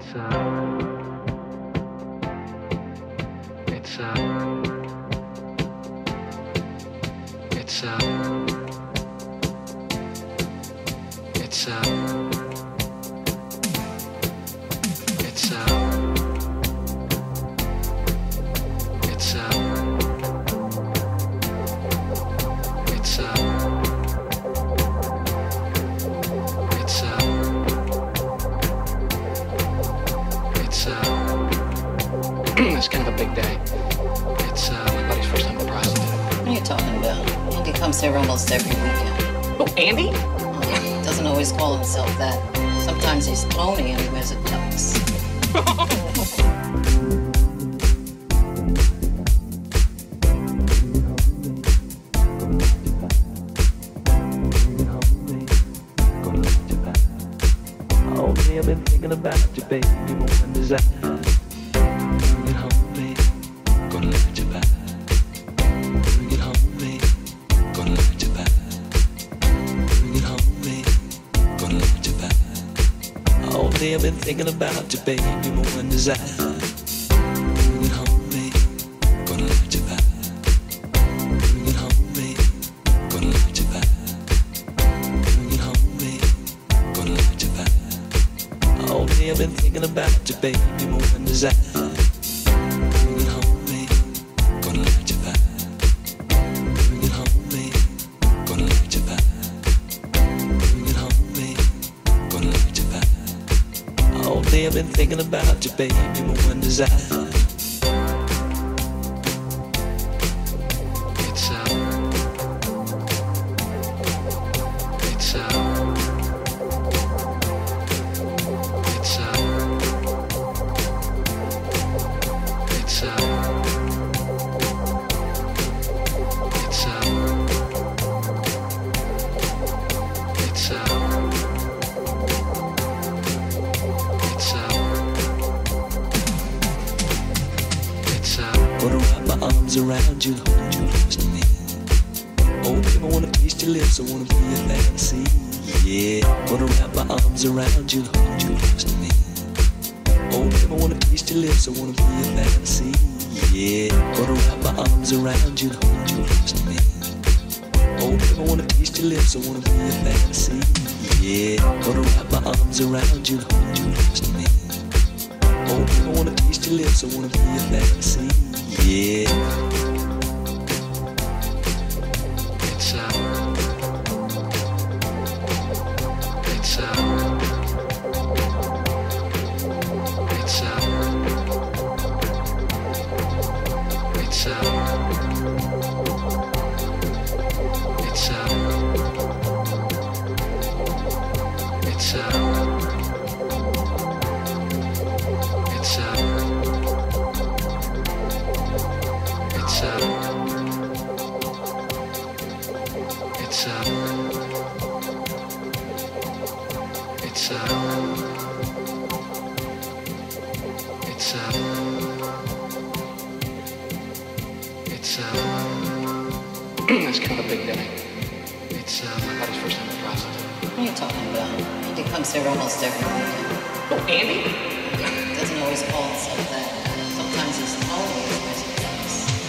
It's kind of a big day. It's my buddy's first time at Prostitute. What are you talking about? Andy comes here almost every weekend. Oh, Andy? Doesn't always call himself that. Sometimes he's phony and he wears a tux. I've been thinking about you, baby, more than desire. Bring it home, baby, gonna let you back. Bring it home, baby, gonna let you back. Bring it home, baby, gonna let you back. All day I've been thinking about you, baby, more than desire. Bring it home, baby, gonna let you back. Bring it home, baby, gonna let you back. Bring it home, baby, gonna let you back. All day I've been thinking about you, baby, more than desire. Bring it home, baby, gonna let you back. Bring it home, baby, gonna let you back. Bring it home, baby, gonna let you back. All day I've been thinking about you, baby, more than desire. Wanna wrap my arms around you, hold you close to me. Oh, baby, I wanna taste your lips, I wanna be your fantasy. Yeah, wanna wrap my arms around you, hold you close to me. Oh, baby, I wanna taste your lips, I wanna be your fantasy. Yeah, wanna wrap my arms around you, hold you close to me. Oh, baby, I wanna taste your lips, I wanna be your fantasy. Yeah, wanna wrap my arms around you, hold you close to me. Oh, baby, I wanna taste your lips, I wanna be your fantasy. Yeah. It's kind of a big day. It's my buddy's first time at Prostitute. What are you talking about? Andy comes here almost every weekend. Oh, Andy? Doesn't always call himself that. Sometimes he's phony and he wears a tux.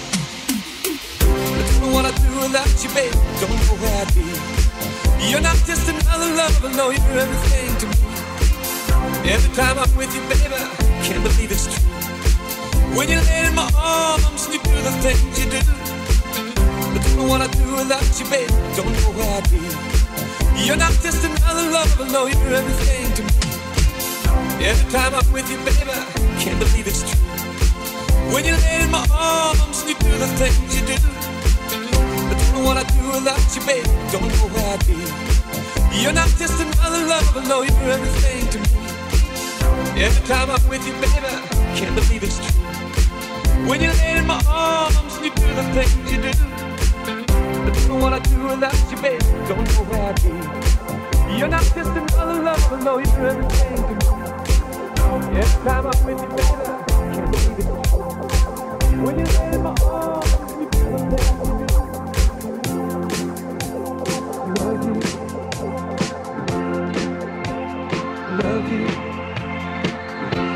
I don't know what I'd do without you, babe. Don't know where I'd be. You're not just another lover, no, you're everything to me. Every time I'm with you, baby, I can't believe it's true. When you lay in my arms and you do the things you do. I don't know what I'd do without you, babe. Don't know where I'd be. You're not just another lover, no, you're everything to me. Every time I'm with you, baby, I can't believe it's true. When you lay in my arms and you do the things you do. I don't know what I'd do without you, baby. Don't know where I'd be. You're not just another lover, no, you're everything to me. Every time I'm with you, baby, I can't believe it's true. When you lay in my arms and you do the things you do. I don't know what I'd do without you, baby. Don't know where I'd be. You're not just another lover, no, you're everything to me. Every time I'm with you, baby, I can't believe it's true. When you lay in my arms and you do the things you do. Love you. Love you.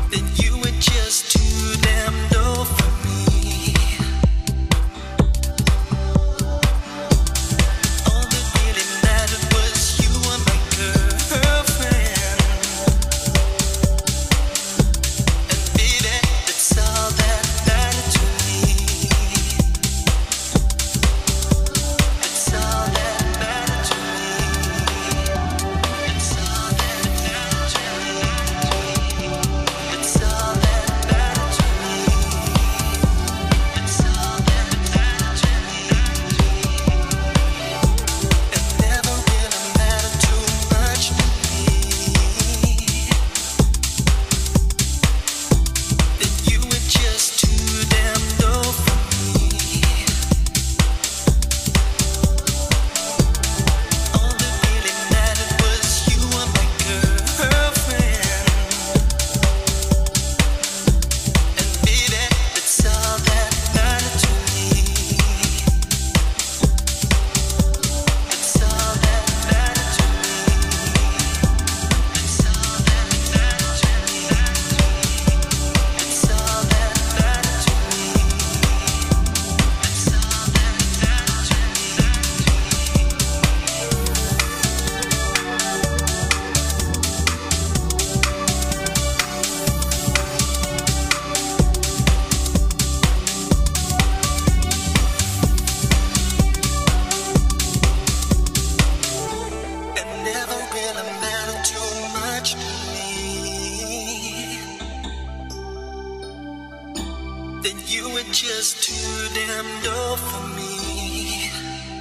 just too damn dull for me.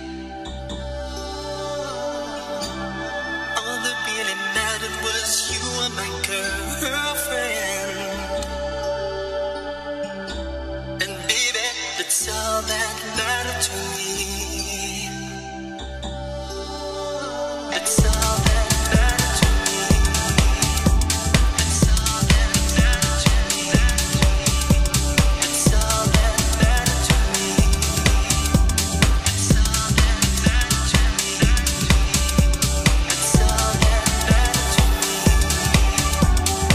All that really mattered was you were my girlfriend. And baby, that's all that mattered to me. That's all that mattered to me. That's all that mattered to me. That's all that mattered to me. That's all that mattered to me. That's all that mattered to me.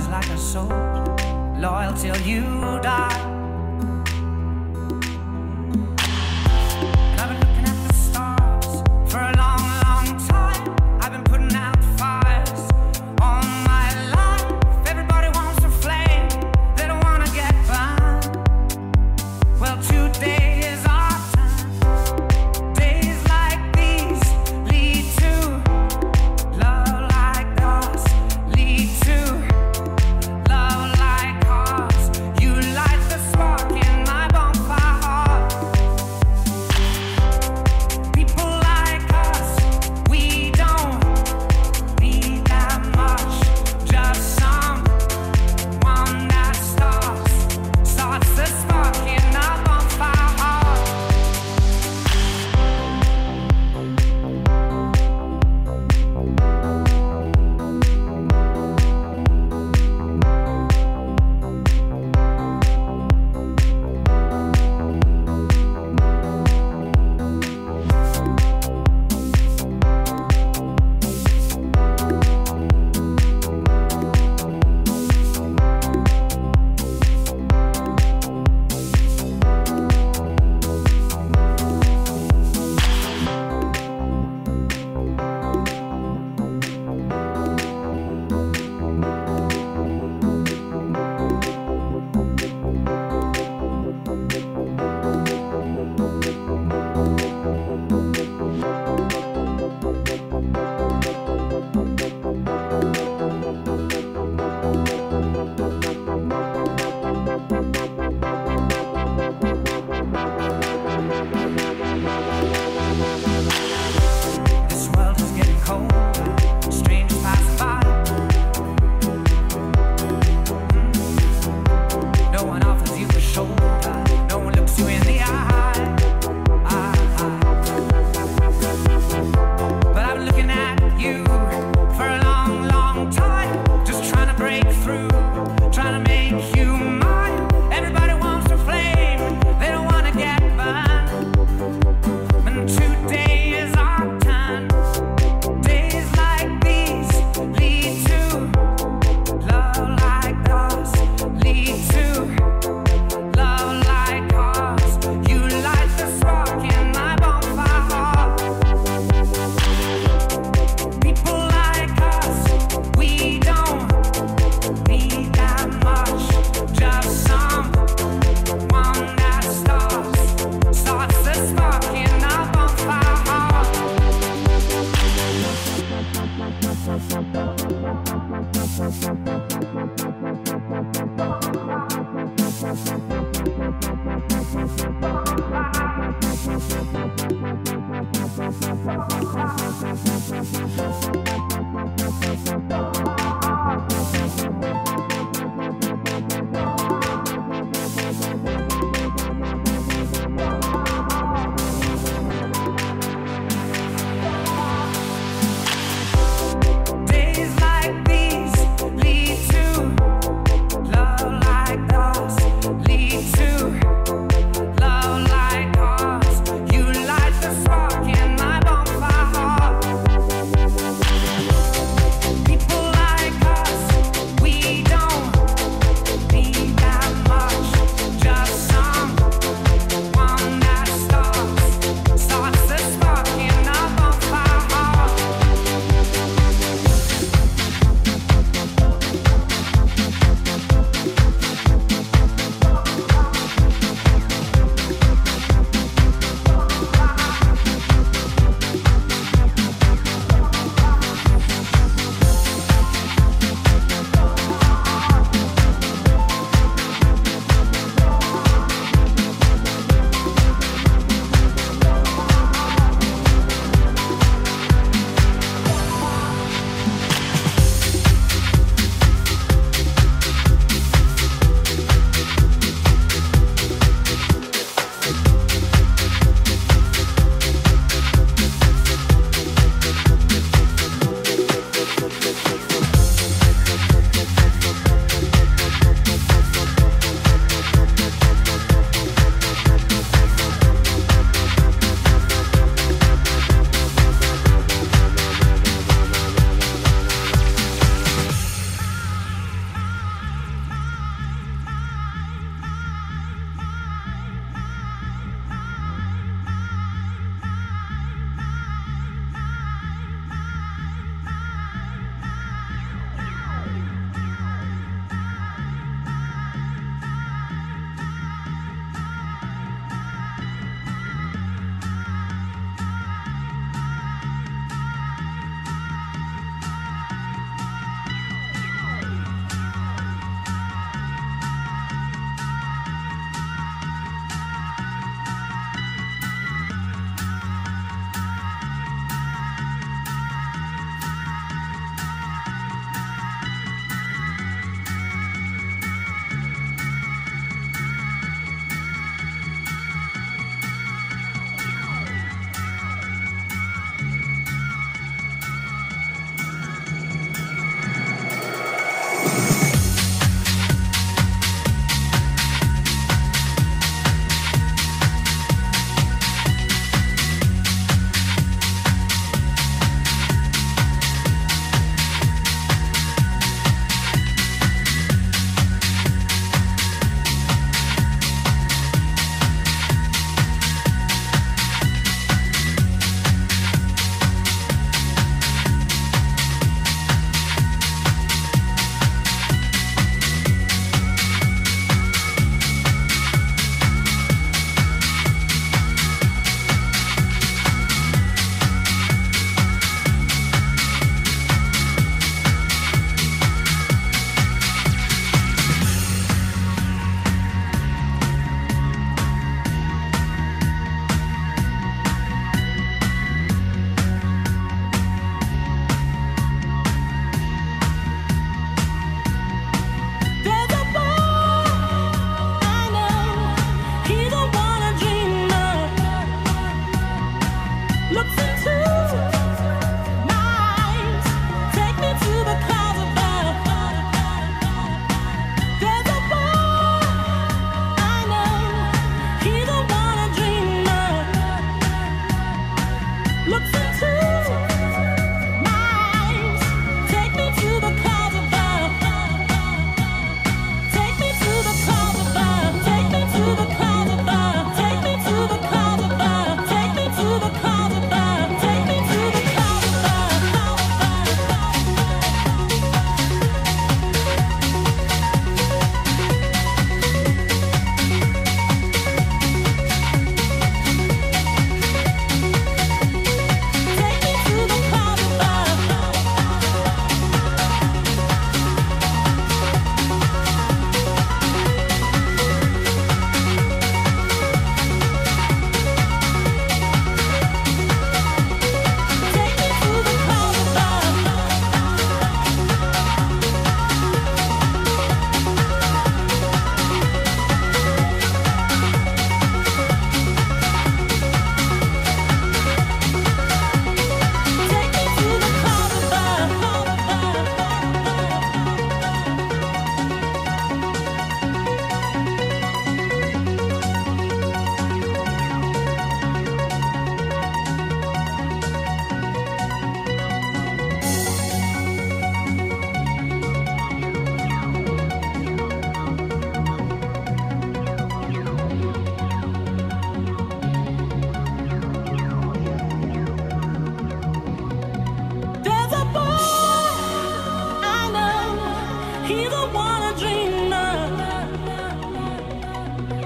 is like a soul, loyal till you die. And I've been looking at the stars for a long, long time. I've been putting out fires all my life. Everybody wants a flame, they don't wanna get burned. Well, today is our time. Days like these lead to love like us, lead to love like ours. You light the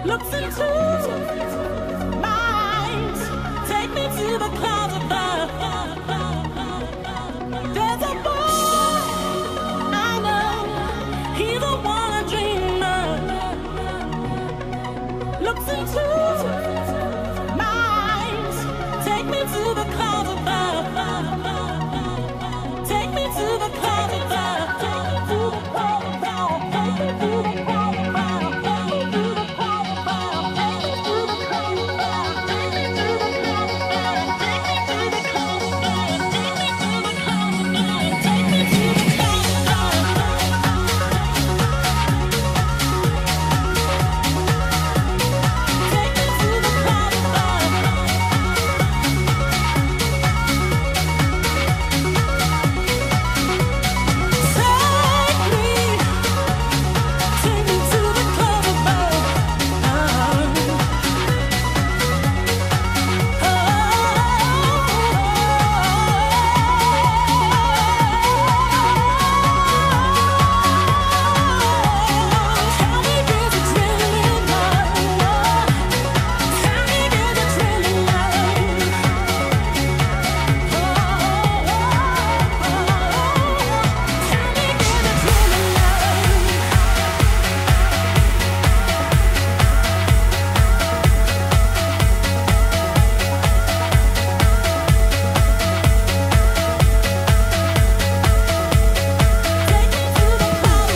looks into my eyes. Take me to the clouds above. There's a boy I know, he's the one I dream of. Looks into my eyes. Take me to the clouds above. Take me to the clouds above. Take me to the clouds above. Take me to the clouds above. Take me to the clouds above. Take me to the clouds above. Take me to the clouds above. Take me to the clouds above. Take me to the clouds above. Take me to the clouds above. Take me to the clouds above. Take me to the clouds above. Tell me, is it really love? Tell me, is it really love? Tell me, is it really love? Take me to the clouds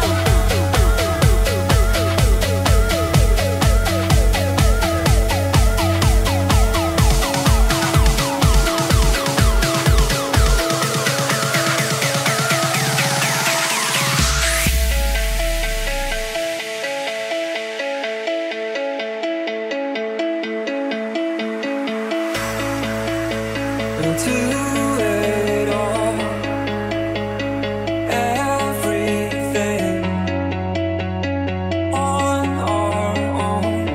Into it all, everything on our own.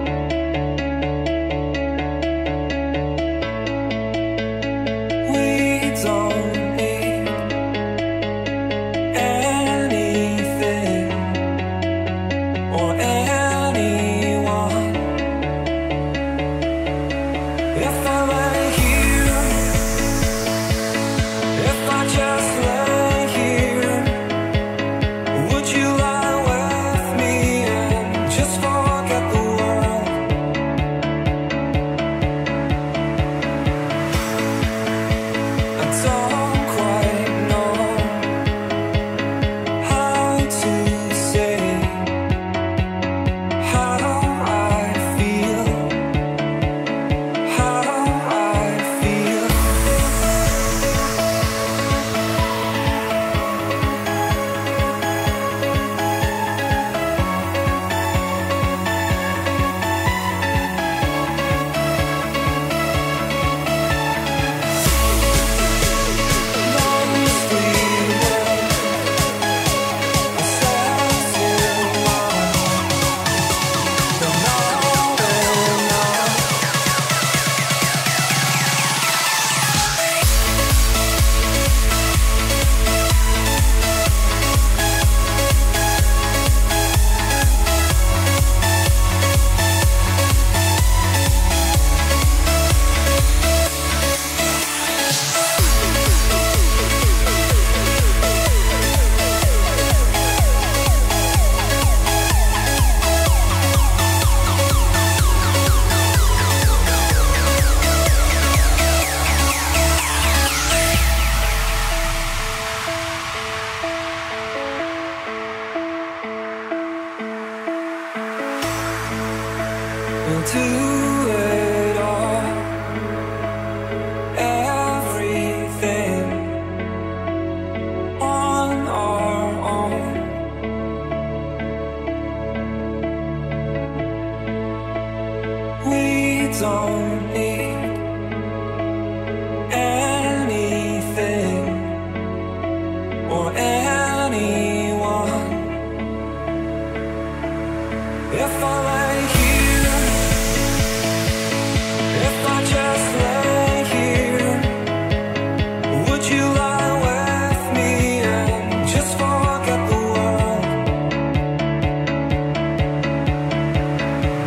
We don't need anything or anyone. If I lay here, if I just lay here, would you lie with me and just forget the world? I don't quite know how to say how I feel, how I feel. Into it all, everything on our own. We don't need anything or anyone. If I lay here, if I just lay here, would you lie with me and just forget the world?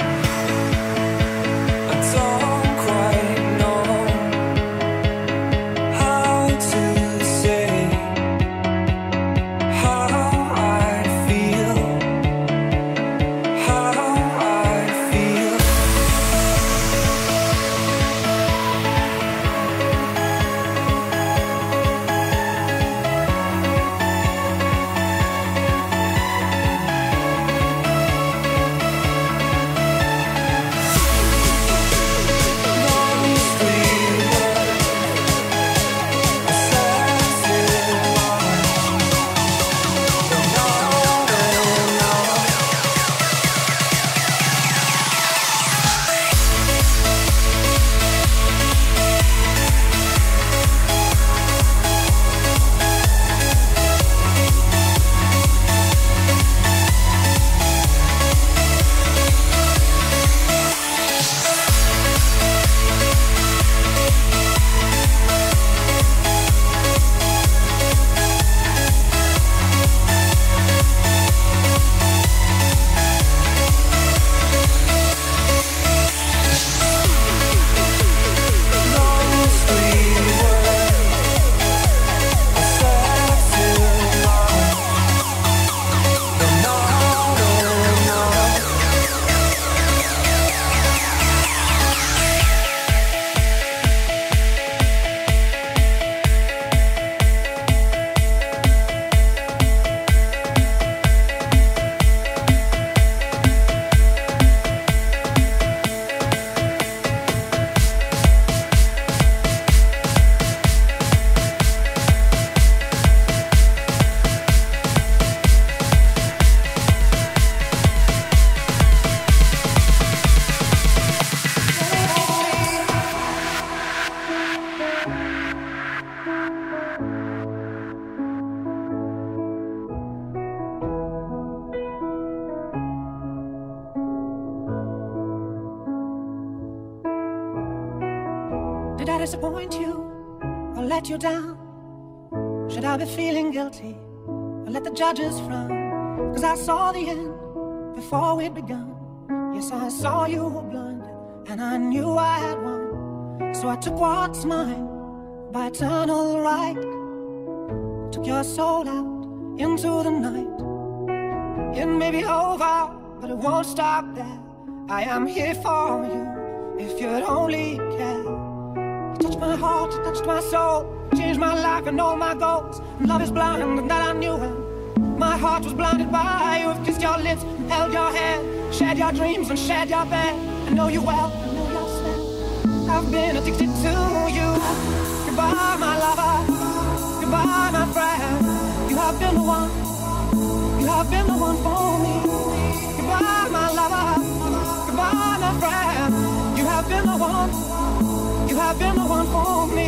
disappoint you or let you down? Should I be feeling guilty or let the judges frown? 'Cause I saw the end before we'd begun. Yes, I saw you were blinded and I knew I had won. So I took what's mine by eternal right. Took your soul out into the night. It may be over, but it won't stop there. I am here for you if you'd only care. You touched my heart, you touched my soul, changed my life and all my goals. And love is blind and that I knew it. My heart was blinded by you. I've kissed your lips and held your hand, shared your dreams and shared your bed. I know you well, I know your smell. I've been addicted to you. Goodbye, my lover. Goodbye, my friend. You have been the one. You have been the one for me. Goodbye, my lover. Goodbye, my friend. You have been the one. You have been the one for me.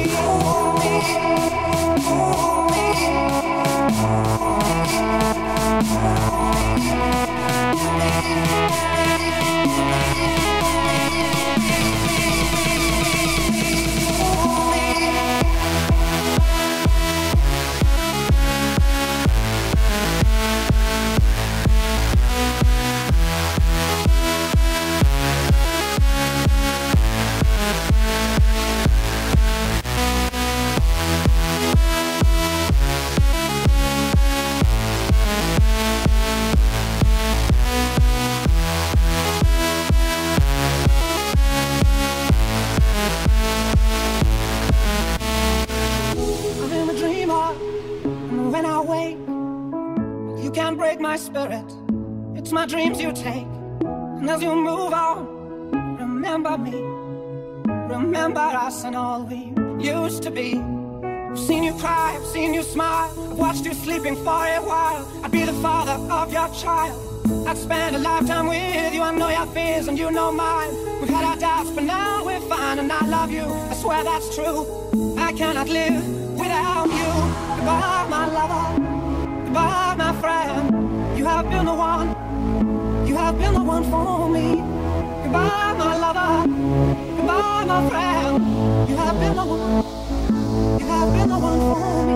My spirit, it's my dreams you take. And as you move on, remember me. Remember us and all we used to be. I've seen you cry, I've seen you smile, I've watched you sleeping for a while. I'd be the father of your child. I'd spend a lifetime with you. I know your fears and you know mine. We've had our doubts, but now we're fine. And I love you, I swear that's true. I cannot live without you. Goodbye, my lover. Goodbye, my friend. You have been the one. You have been the one for me. Goodbye, my lover. Goodbye, my friend. You have been the one. You have been the one for me.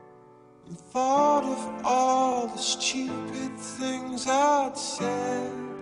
Thought of all the stupid things I'd said.